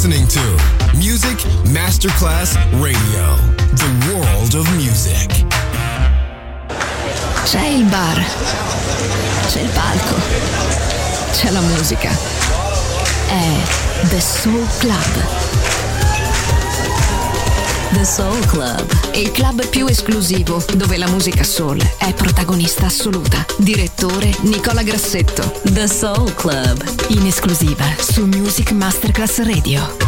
listening to Music Masterclass Radio, the world of music. C'è il bar, c'è il palco, c'è la musica. È The Soul Club. The Soul Club, il club più esclusivo dove la musica soul è protagonista assoluta. Direttore Nicola Grassetto. The Soul Club, in esclusiva su Music Masterclass Radio.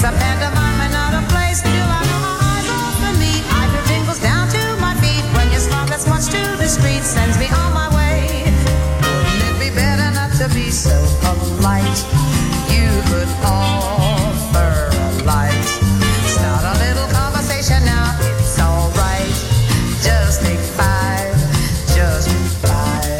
It's a pantomime and not a play. Still I know my eyes open me. I feel tingles down to my feet when your smile that's much too discreet sends me on my way. Wouldn't it be better not to be so polite? You could offer a light. Start a little conversation now. It's alright. Just take five. Just five.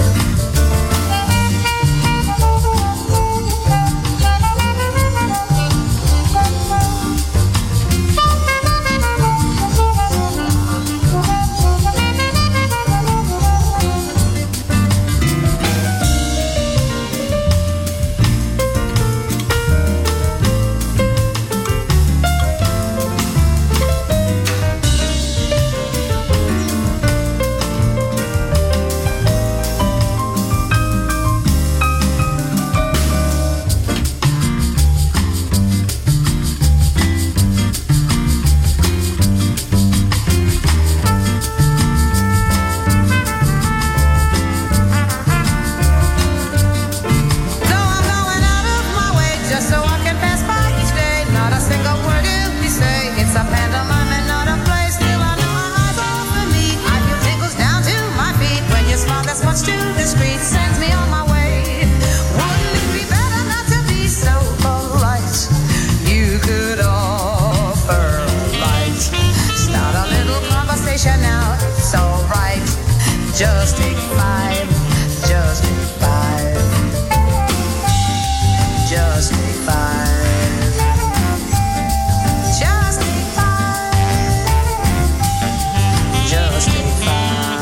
Just take five, just take five, just take five, just take five, just take five.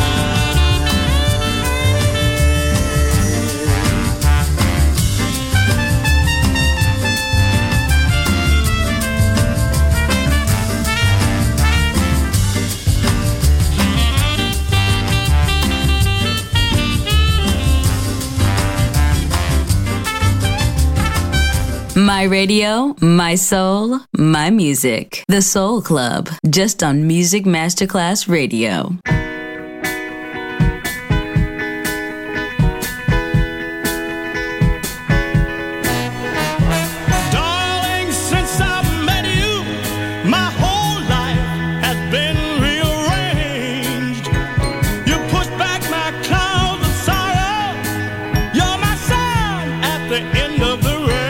My radio, my soul, my music. The Soul Club, just on Music Masterclass Radio. Darling, since I've met you, my whole life has been rearranged. You pushed back my clouds of sorrow. You're my sun at the end of the rain.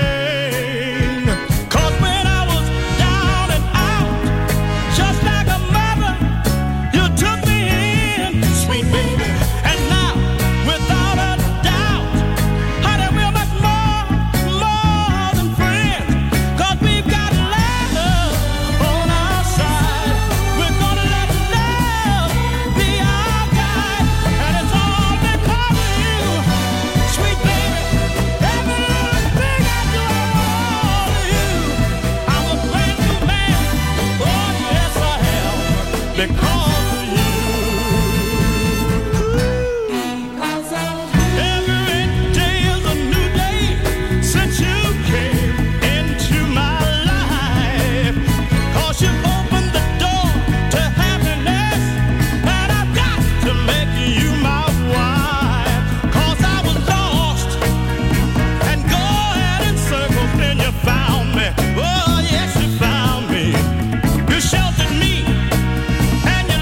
Oh, yes, you found me. You sheltered me, and you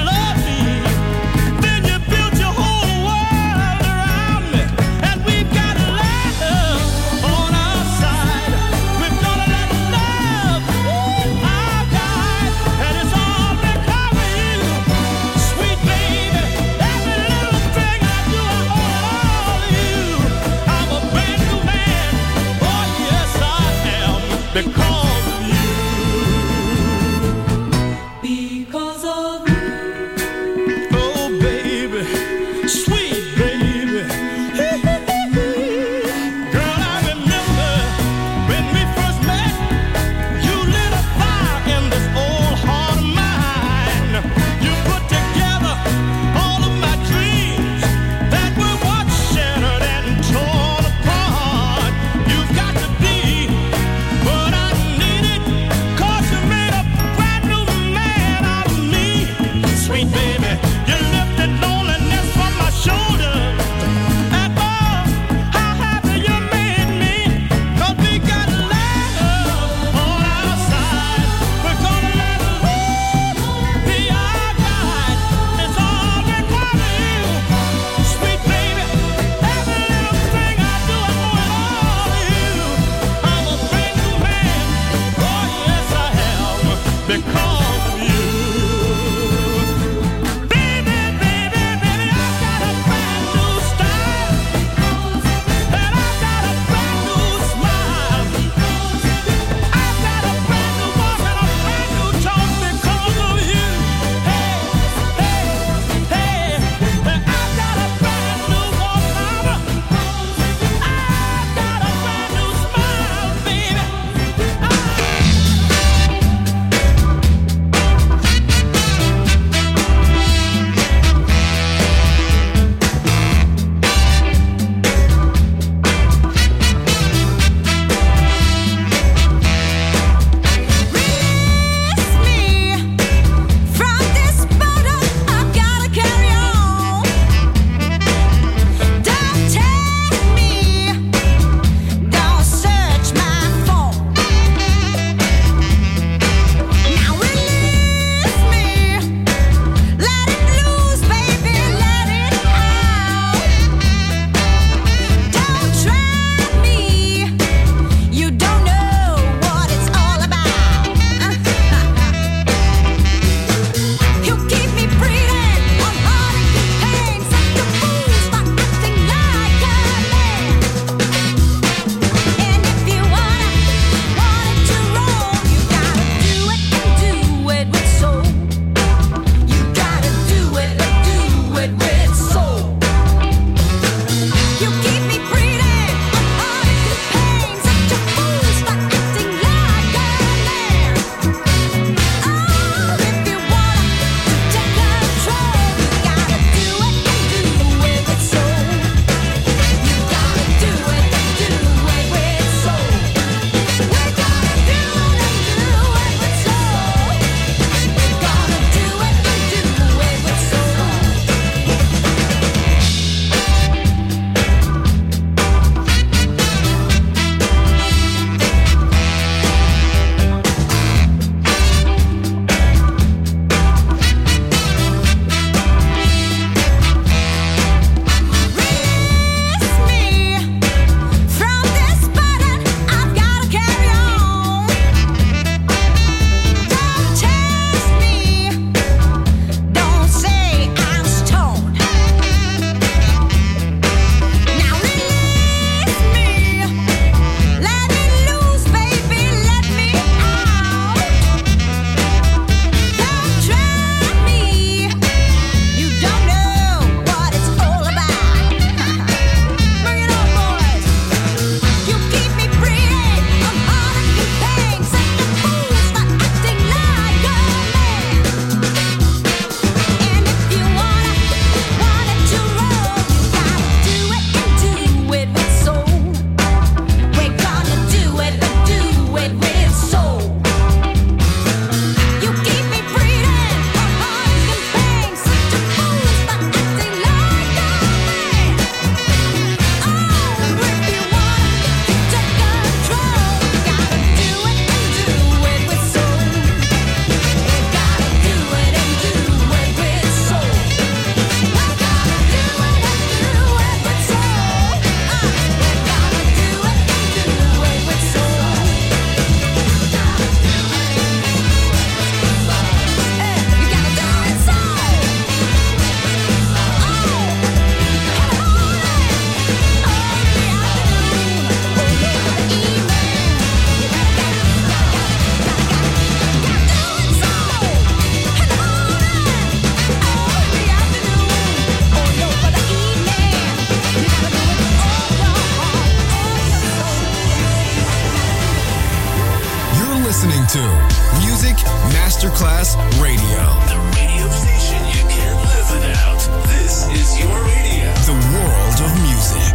Masterclass Radio. The radio station you can't live without. This is your radio. The world of music.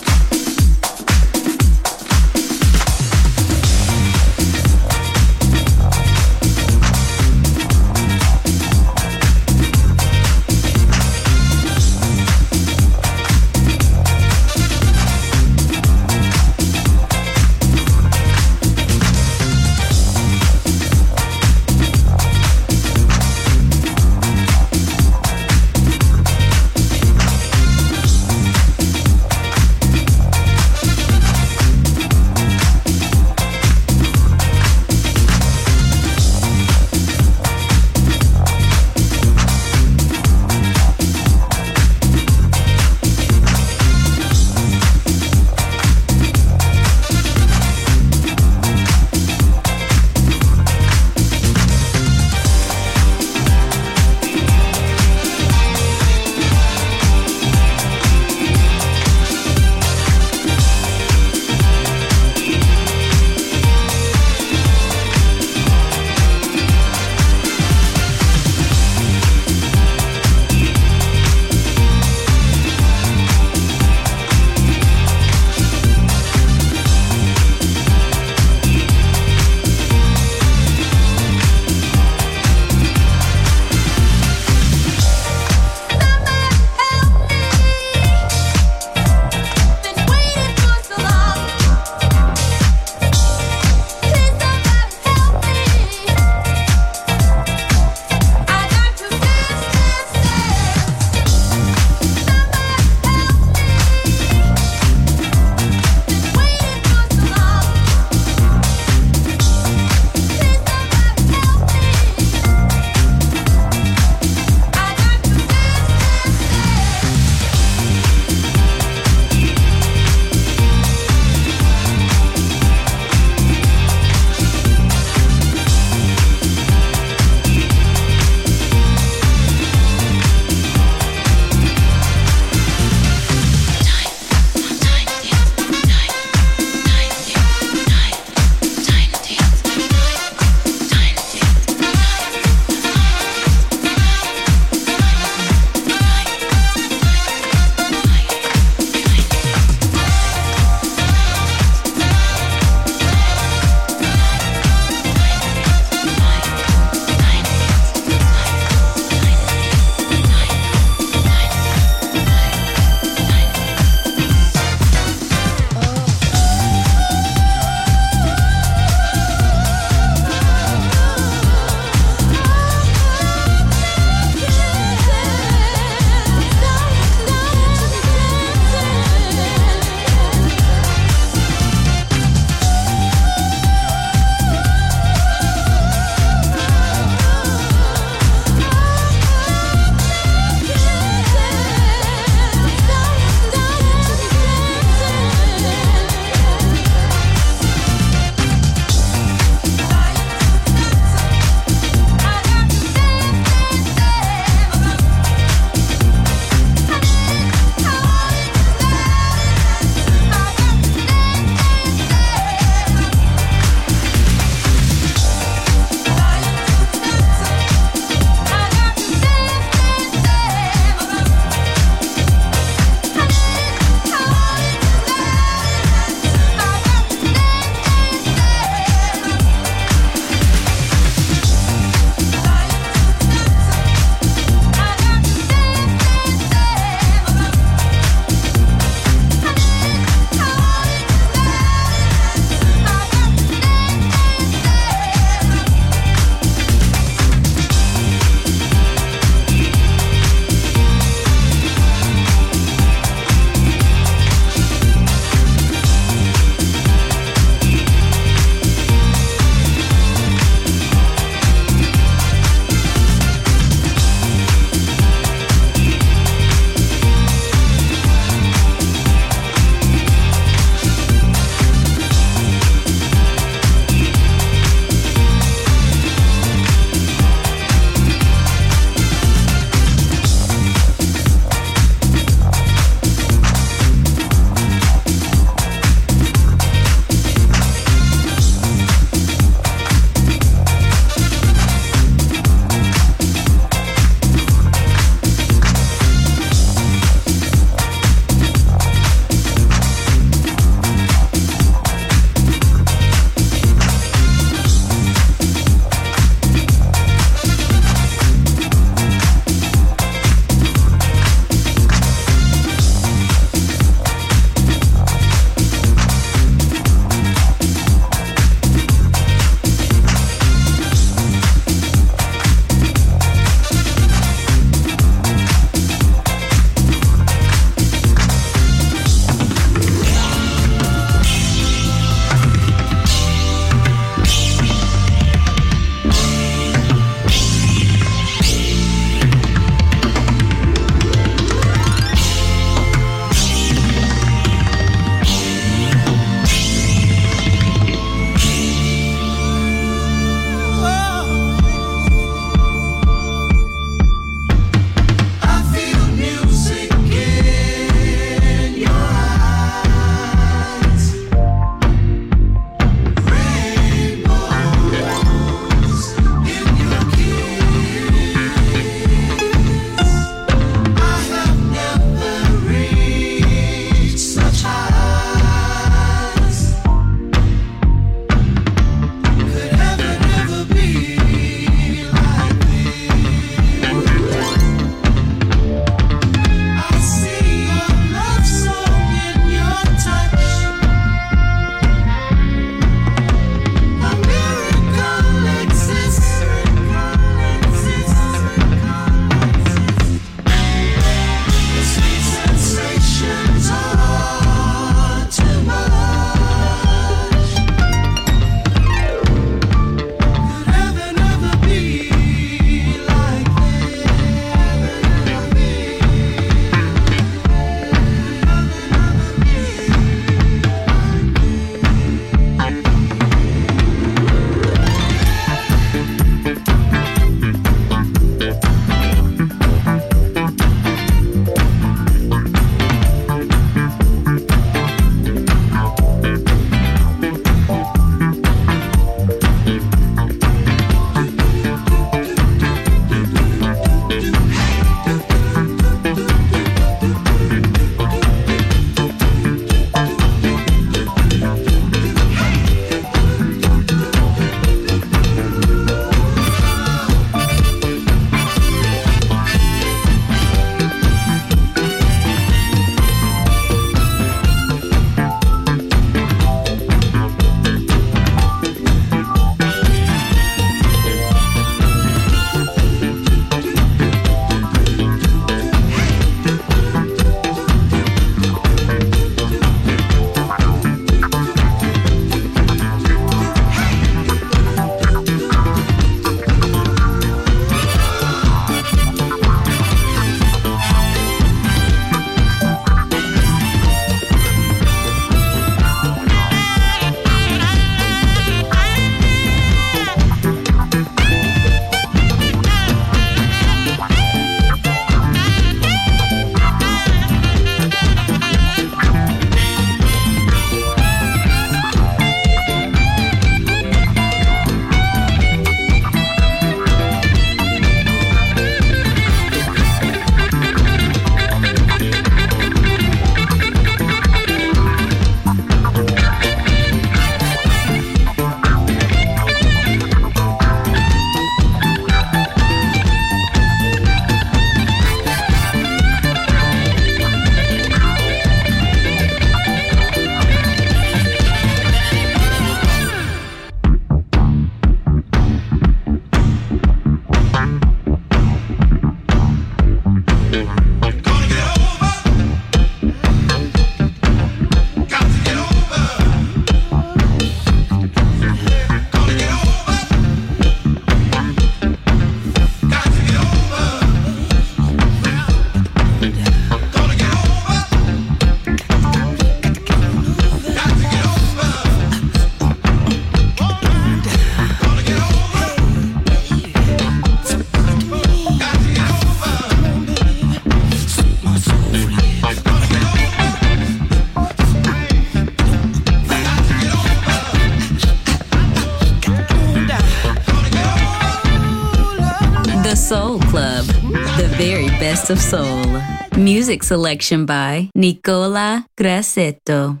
Soul Club, the very best of soul. Music selection by Nicola Grassetto.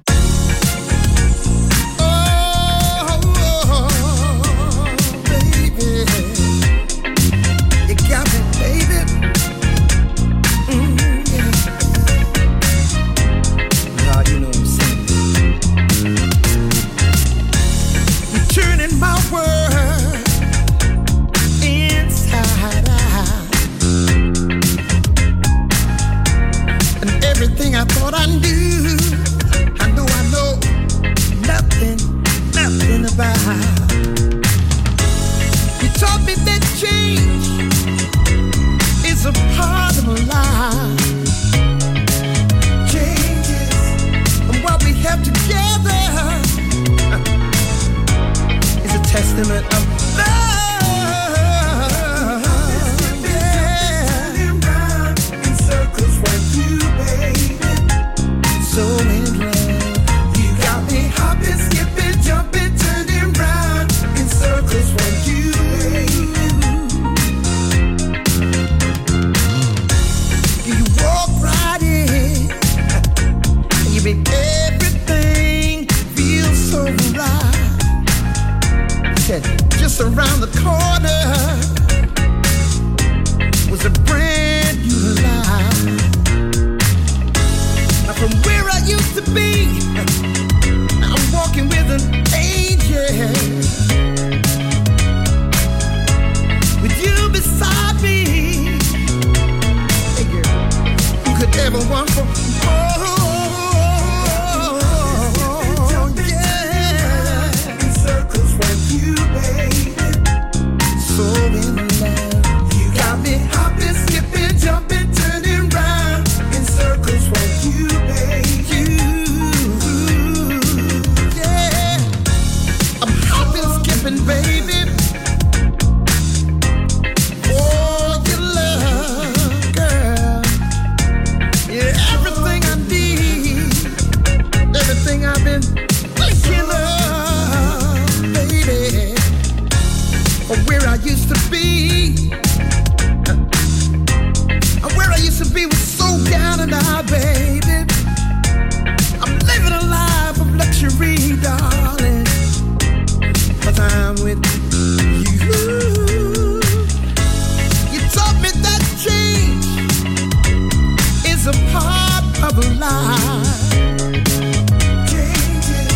I thought I knew, I know nothing about. You taught me that change is a part of life. Changes and what we have together is a testament of love. So in love, you got me hopping, skipping, jumping, turning round in circles when you you walk right in, and you make everything feel so right. Said just around the corner was a brand new life. From where I used to be, I'm walking with an angel. With you beside me, hey girl, who could ever want for more? Yeah, in circles with you, baby. So in love, you got me hopping, skipping, jumping, turning round in circles with you. Baby, oh, your love, girl, yeah, everything I need, everything I've been thinking of, baby, or where I used to be, where I used to be was so down and out, baby. I'm living a life of luxury, darling. Time with you. You taught me that change is a part of life. Changes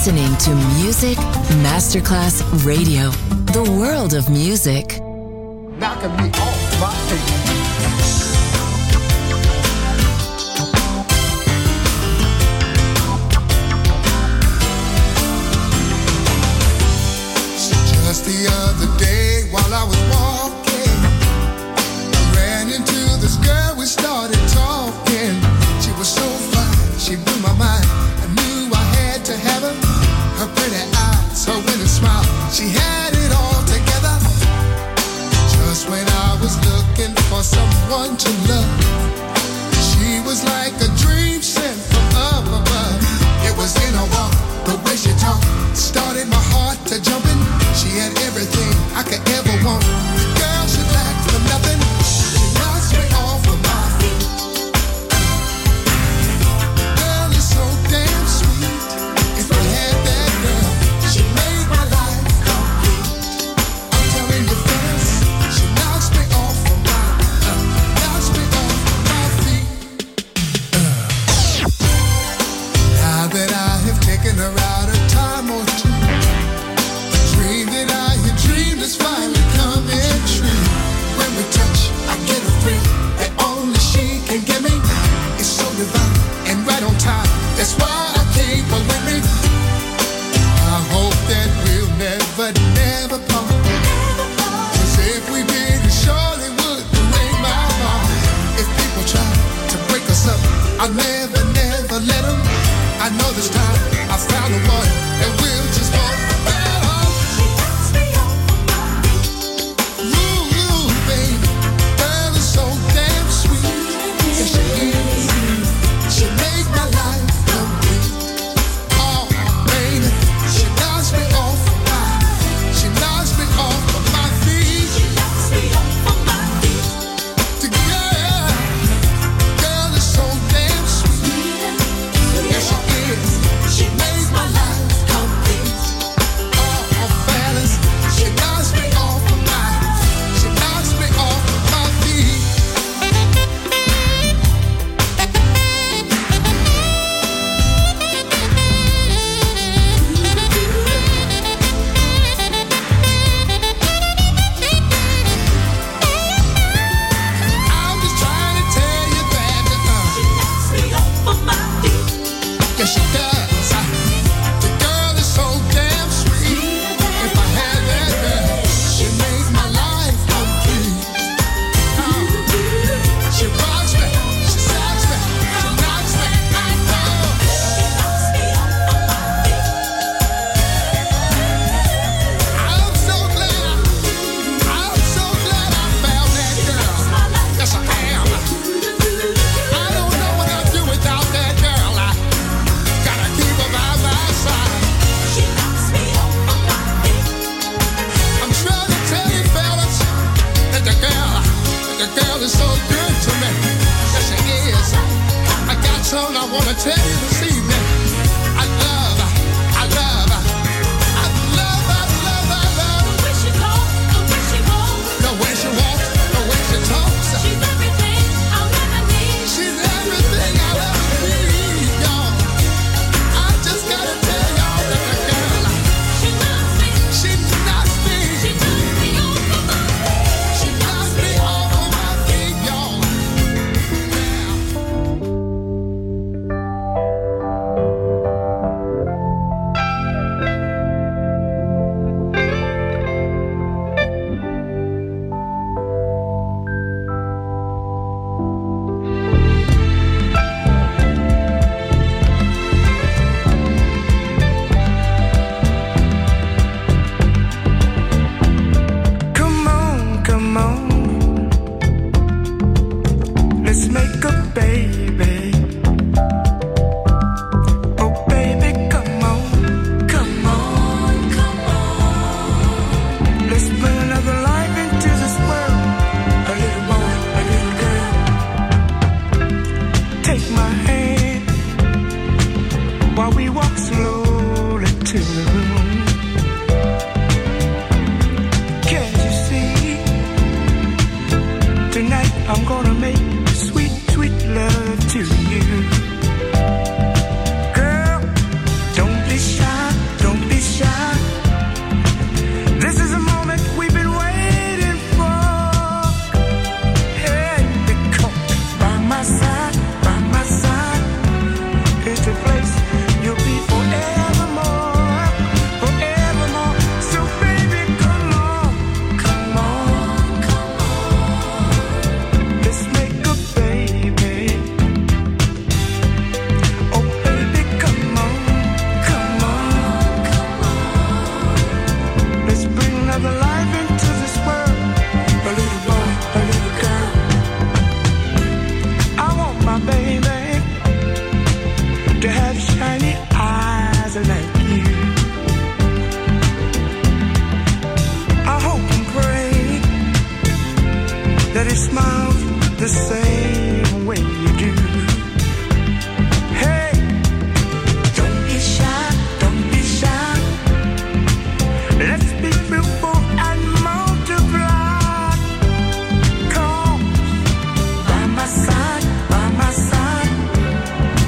listening to Music Masterclass Radio, the world of music. Knocking me off my feet. Just the other day while I was walking, I ran into this girl, we started talking. She was so fine, she blew my mind. I knew I had to have her. Her pretty eyes, her winning smile, she had it all together. Just when I was looking for someone to love, she was like a dream sent from up above. It was in her walk, the way she talked, started my heart to jumping. She had everything I could ever want. The girl, she lacked for nothing. She knocks me off of my feet. Girl is so damn sweet. If I had that girl, she made my life complete. I'm telling you, fellas, she knocks me off of my feet. Now that I have taken her out a time or two, is finally coming true. When we touch, I get a thrill that only she can give me. It's so divine and right on time. That's why I keep her with me. I hope that we'll never part. 'Cause if we did, it surely would break my heart. If people try to break us up, I'll never let them. I know this time I found the one that will just walk.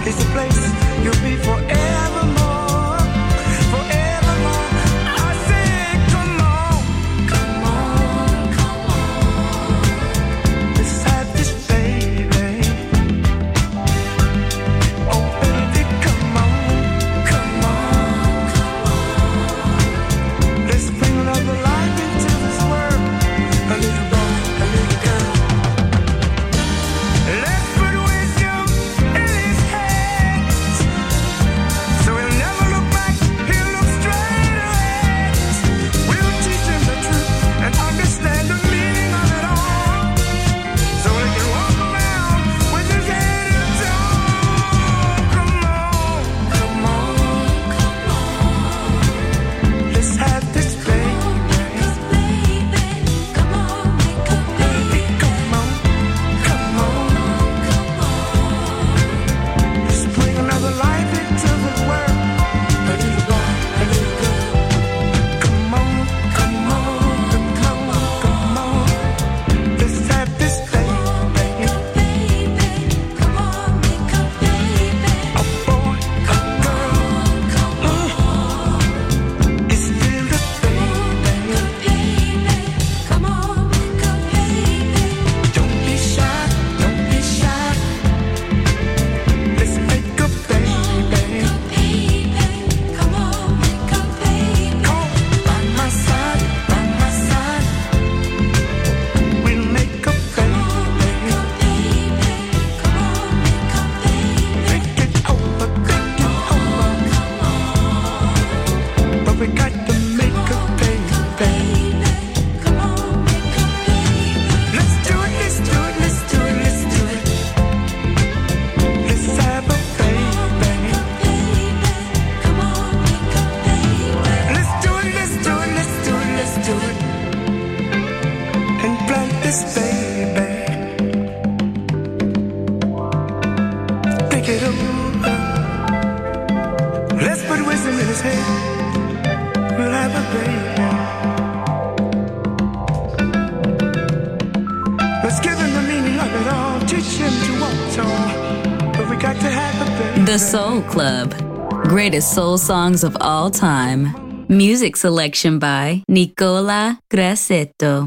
is the place you'll be forevermore, forevermore. I say, come on, come on, come on. Let's have this, baby. Oh, baby, come on, come on, come on. Let's bring another life into this world. A little boy, a little girl. Let's put wisdom in his hands, so he'll never look back, he'll look straight ahead. We'll teach him the truth and understand the meaning of it all, so he can walk around with his head held tall. Come on, come on, come on. Let's have this, baby. Come on, baby, come on, come on. Let's bring another life into this world. A little boy, a little girl. Come on, come on, come on, come on. Let's have this, baby. Come on, make a baby. A boy, a girl. Come on. It's still the baby. Come on, make a baby. Don't be shy, don't be shy. Let's make a baby. Come on, make a baby. Come by my side, by my side. We'll make a baby. Come on, make a baby. Take it over, take it over. But we got to make a baby. Come on, make a baby. Let's do it, let's do it, let's do it, let's do it. Let's have a baby. Come on, make a baby. Let's do it, let's do it, let's do it, let's do it. And plant this baby. Think it over. Let's put wisdom in his head. We'll have a baby. Let's give him the meaning of it all. Teach him to walk tall. But we got to have a baby. The Soul Club. Greatest soul songs of all time. Music selection by Nicola Grassetto.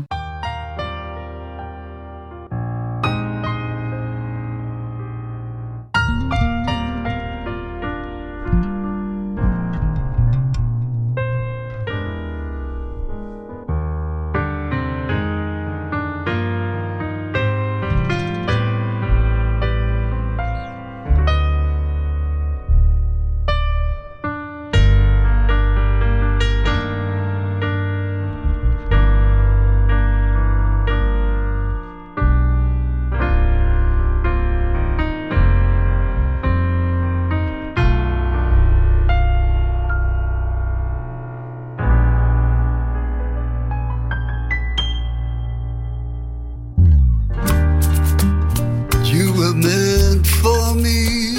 You were meant for me.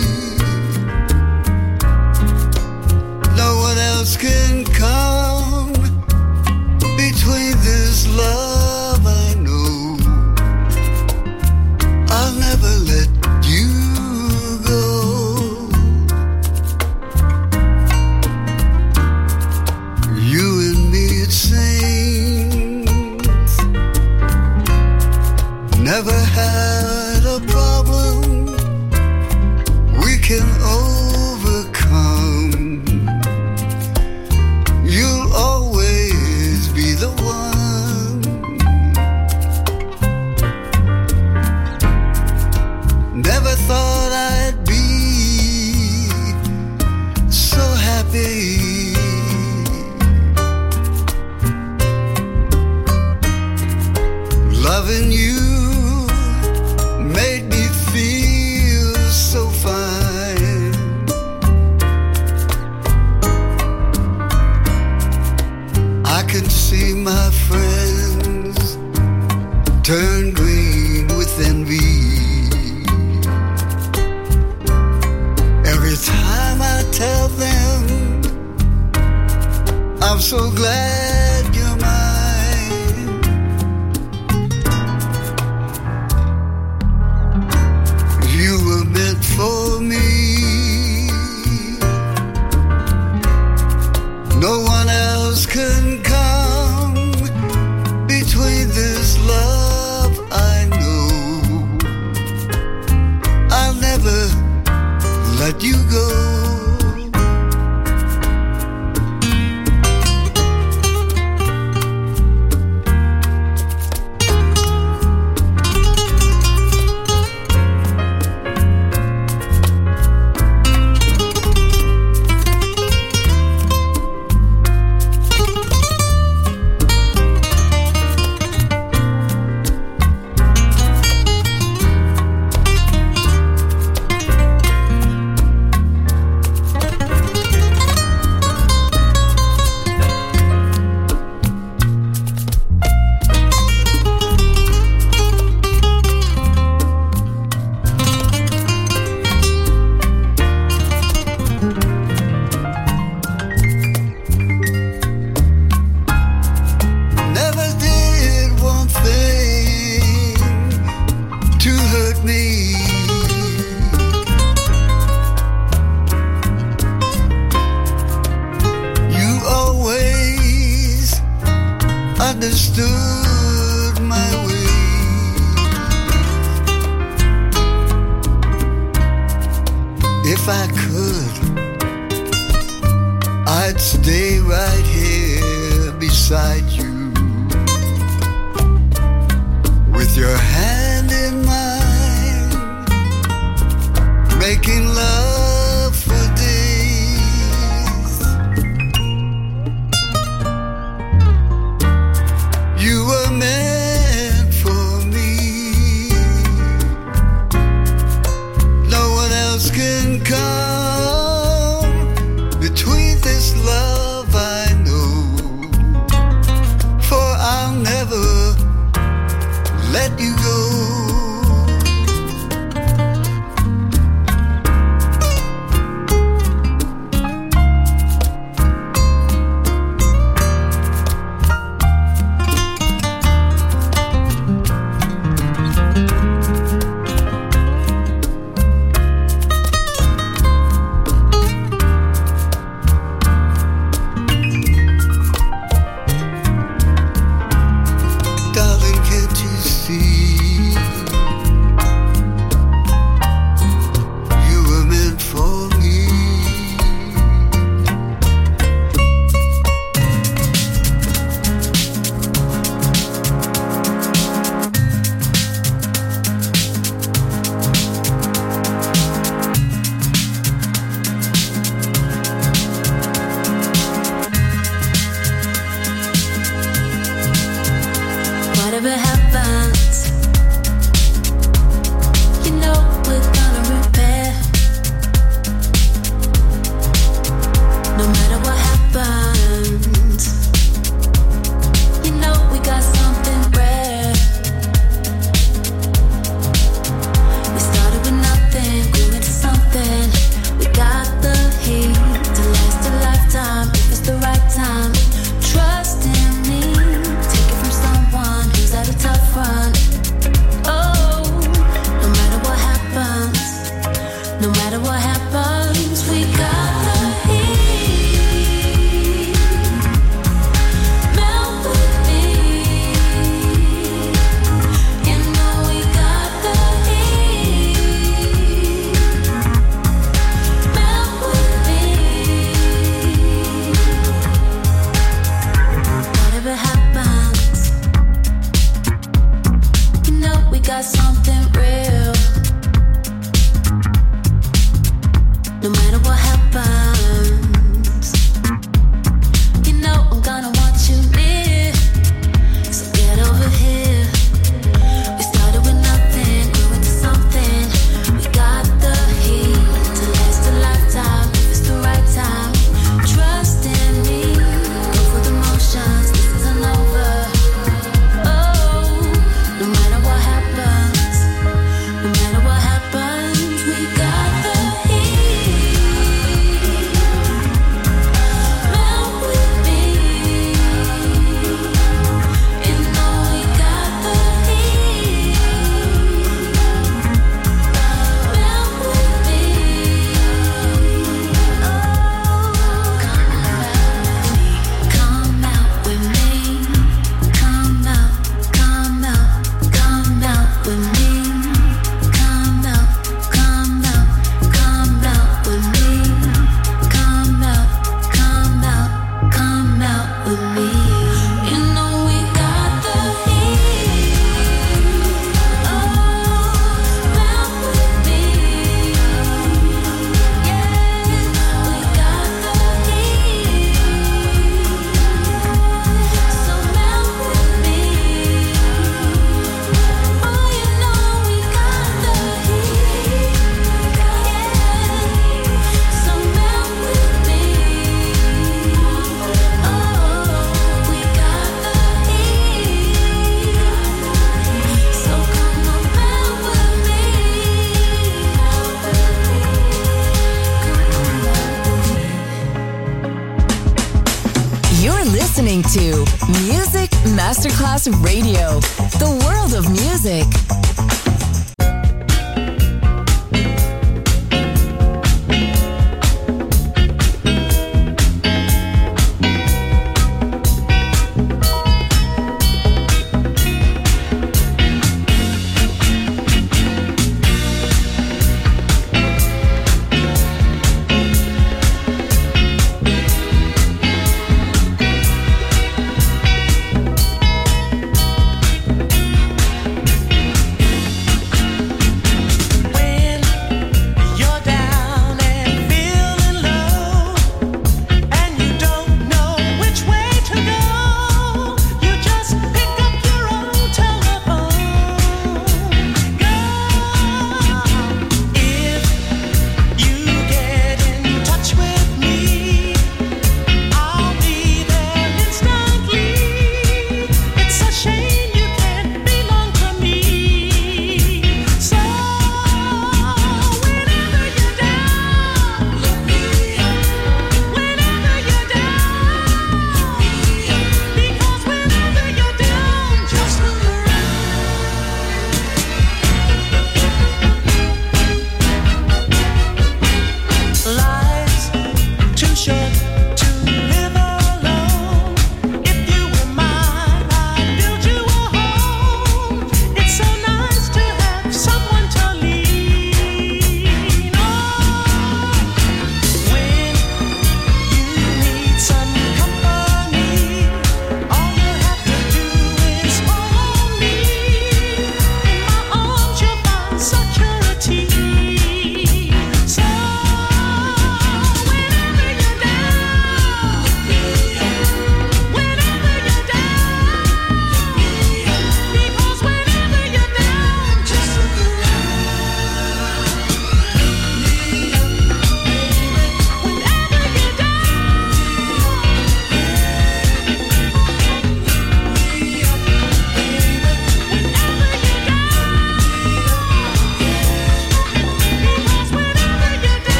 No one else can come between this love I know. I'll never let you go. You and me, it seems, never had a problem we can overcome. You'll always be the one. Never thought I'd be so happy. Loving you made me feel so fine. I can see my friends turn green with envy every time I tell them I'm so glad you're mine. You were meant for me. let you go. Understood my way. If I could, I'd stay right here beside you, with your hand in mine, making love for days. You were meant for me. No one else can come between this love I know, for I'll never let you go. No matter what happens, we got the heat. listening to Music Masterclass Radio, the world of music.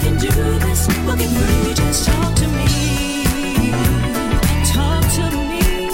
can do this, we'll get through. Just talk to me. Talk to me.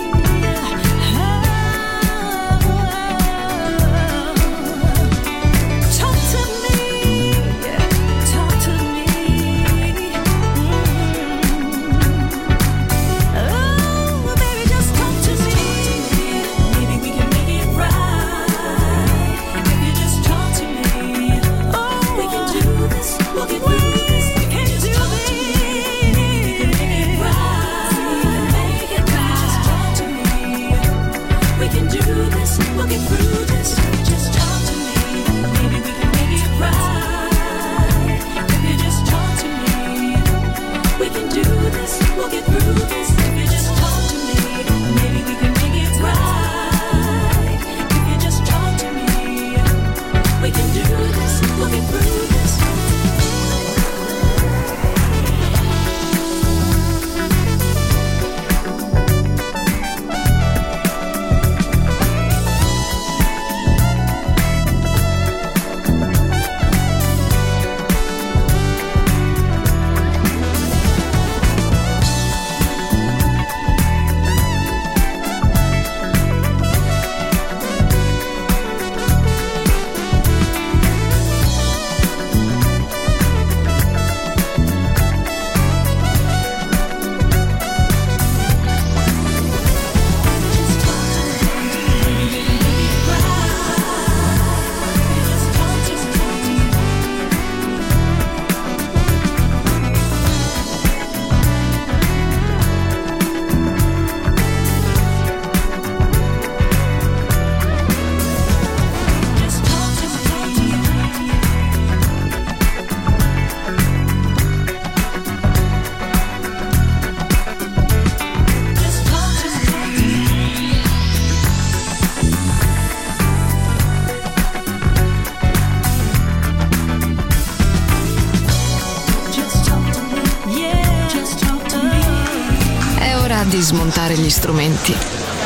Di smontare gli strumenti,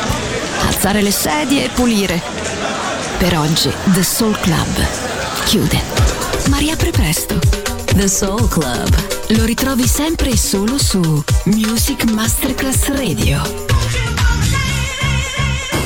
alzare le sedie e pulire. Per oggi The Soul Club chiude, ma riapre presto. The Soul Club lo ritrovi sempre e solo su Music Masterclass Radio.